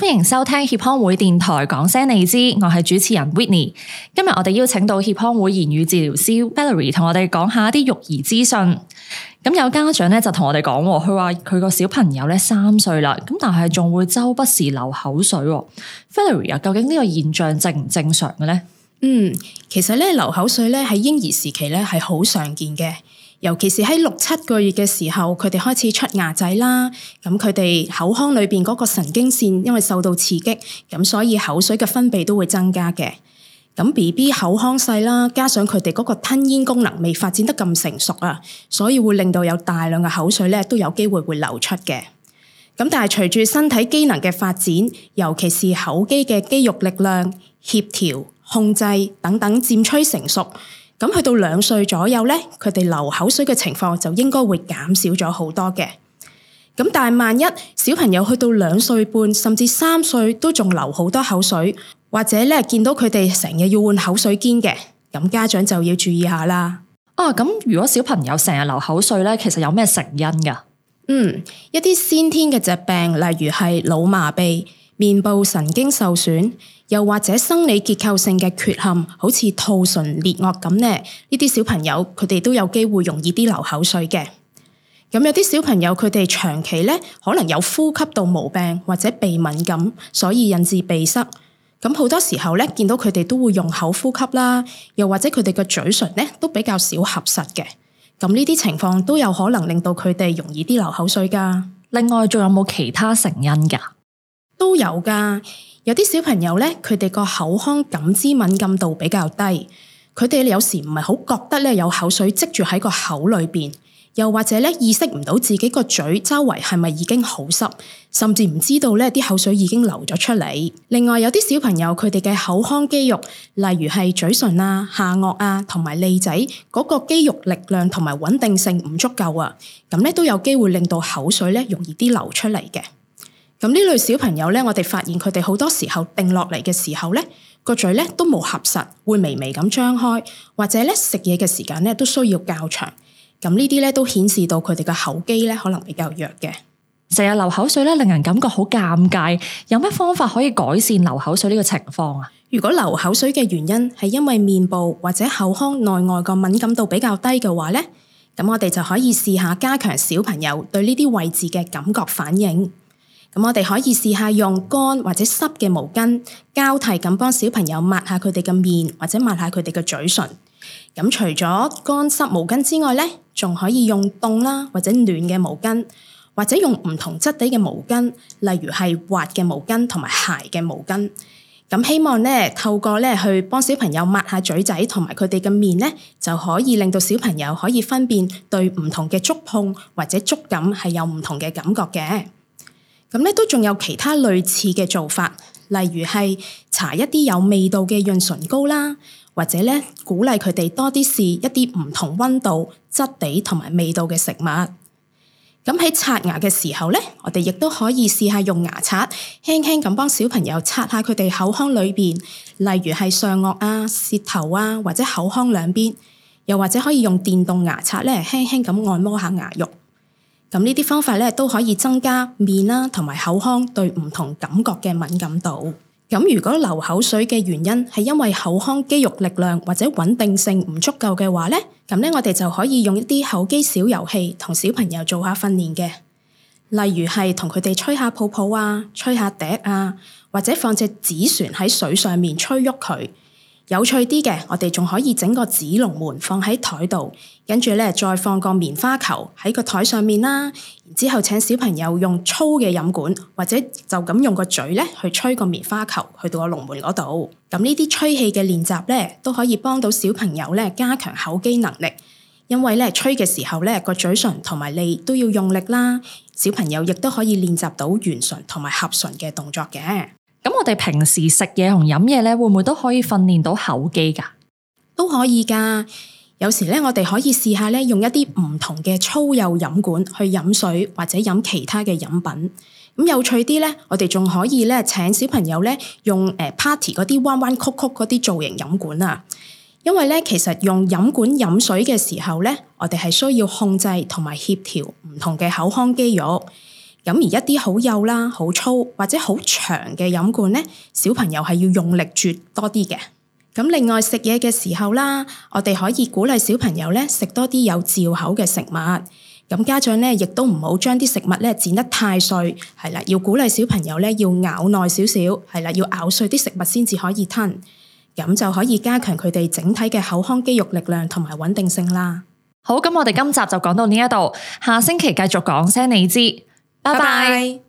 歡迎收聽協康會電台講聲你知，我係主持人 Whitney。今日我哋邀請到協康會言語治療師 Valerie 同我哋講下啲育兒資訊。咁有家長咧就同我哋講，佢話佢個小朋友咧3歲啦，咁但係仲會周不時流口水。Valerie 啊，究竟呢個現象正唔正常嘅咧？ 其實咧流口水咧喺嬰兒時期咧係好常見嘅，尤其是喺6-7個月嘅時候，佢哋開始出牙仔啦，咁佢哋口腔裏邊嗰個神經線因為受到刺激，咁所以口水嘅分泌都會增加嘅。咁 BB 口腔細啦，加上佢哋嗰個吞咽功能未發展得咁成熟啊，所以會令到有大量嘅口水咧都有機會會流出嘅。咁但係隨住身體機能嘅發展，尤其是口肌嘅肌肉力量、協調、控制等等漸趨成熟，咁去到2歲左右咧，佢哋流口水嘅情況就應該會減少咗好多嘅。咁但係萬一小朋友去到2歲半甚至3歲都仲流好多口水，或者咧見到佢哋成日要換口水肩嘅，咁家長就要注意下啦。 咁如果小朋友成日流口水咧，其實有咩成因㗎？ 一啲先天嘅疾病，例如係腦麻痹、面部神經受損，又或者生理結構性嘅缺陷，好似兔唇裂腭咁咧，呢啲小朋友佢哋都有機會容易啲流口水嘅。咁有啲小朋友佢哋長期咧可能有呼吸道毛病或者鼻敏感，所以引致鼻塞。咁好多時候咧見到佢哋都會用口呼吸啦，又或者佢哋嘅嘴唇咧都比較少合實嘅。咁呢啲情況都有可能令到佢哋容易啲流口水㗎。 另外仲有冇其他成因㗎？ 都有㗎。有啲小朋友咧，佢哋個口腔感知敏感度比較低，佢哋有時唔係好覺得咧有口水積住喺個口裏邊，又或者咧意識唔到自己個嘴周圍係咪已經好濕，甚至唔知道咧啲口水已經流咗出嚟。另外有啲小朋友佢哋嘅口腔肌肉，例如係嘴唇啊、下顎啊同埋脷仔嗰個肌肉力量同埋穩定性唔足夠啊，咁咧都有機會令到口水咧容易啲流出嚟嘅。咁呢類小朋友咧，我哋發現佢哋好多時候定落嚟嘅時候咧，個嘴咧都冇合實，會微微咁張開，或者咧食嘢嘅時間咧都需要較長。咁呢啲咧都顯示到佢哋嘅口肌咧可能比較弱嘅。 成日流口水咧，令人感覺好尷尬。有咩方法可以改善流口水呢個情況啊？ 如果流口水嘅原因係因為面部或者口腔內外個敏感度比較低嘅話咧，咁我哋就可以試下加強小朋友對呢啲位置嘅感覺反應。咁我哋可以試下用乾或者濕嘅毛巾交替咁幫小朋友抹下佢哋嘅面或者抹下佢哋嘅嘴唇。咁除咗乾濕毛巾之外咧，仲可以用凍啦或者暖嘅毛巾，或者用唔同質地嘅毛巾，例如係滑嘅毛巾同埋鞋嘅毛巾。咁希望咧透過咧去幫小朋友抹下嘴仔同埋佢哋嘅面咧，就可以令到小朋友可以分辨對唔同嘅觸碰或者觸感係有唔同嘅感覺嘅。咁咧都仲有其他類似嘅做法，例如係搽一啲有味道嘅潤唇膏啦，或者咧鼓勵佢哋多啲試一啲唔同溫度、質地同埋味道嘅食物。咁喺刷牙嘅時候咧，我哋亦都可以試下用牙刷輕輕咁幫小朋友刷下佢哋口腔裏邊，例如係上顎啊、舌頭啊，或者口腔兩邊，又或者可以用電動牙刷咧輕輕咁按摩下牙肉。咁呢啲方法咧都可以增加面啦同埋口腔對唔同感覺嘅敏感度。咁如果流口水嘅原因係因為口腔肌肉力量或者穩定性唔足夠嘅話咧，咁咧我哋就可以用一啲口肌小遊戲同小朋友做下訓練嘅，例如係同佢哋吹下泡泡啊、吹下笛啊，或者放隻紙船喺水上面吹喐佢。有趣啲嘅，我哋仲可以整個紙龍門放喺台度，跟住咧再放個棉花球喺個台上面啦。然之後請小朋友用粗嘅飲管，或者就咁用個嘴咧去吹個棉花球去到個龍門嗰度。咁呢啲吹氣嘅練習咧，都可以幫到小朋友咧加強口肌能力。因為咧吹嘅時候咧個嘴唇同埋脷都要用力啦，小朋友亦都可以練習到圓唇同埋合唇嘅動作嘅。 咁我哋平時食嘢同飲嘢咧，會唔會都可以訓練到口肌㗎？ 都可以㗎。有時咧，我哋可以試下咧，用一啲唔同嘅粗幼飲管去飲水或者飲其他嘅飲品。咁有趣啲咧，我哋仲可以咧請小朋友咧用party 嗰啲彎彎曲曲嗰啲造型飲管啊。因為咧，其實用飲管飲水嘅時候咧，我哋係需要控制同埋協調唔同嘅口腔肌肉。 咁而一啲好幼啦、好粗或者好長嘅飲管咧，小朋友係要用力啜多啲嘅。咁另外食嘢嘅時候啦，我哋可以鼓勵小朋友咧食多啲有嚼口嘅食物。咁家長咧亦都唔好將啲食物咧剪得太碎，係啦，要鼓勵小朋友咧要咬耐少少，係啦，要咬碎啲食物先至可以吞，咁就可以加強佢哋整體嘅口腔肌肉力量同埋穩定性啦。 好，咁我哋今集就講到呢一度，下星期繼續講聲你知，拜拜。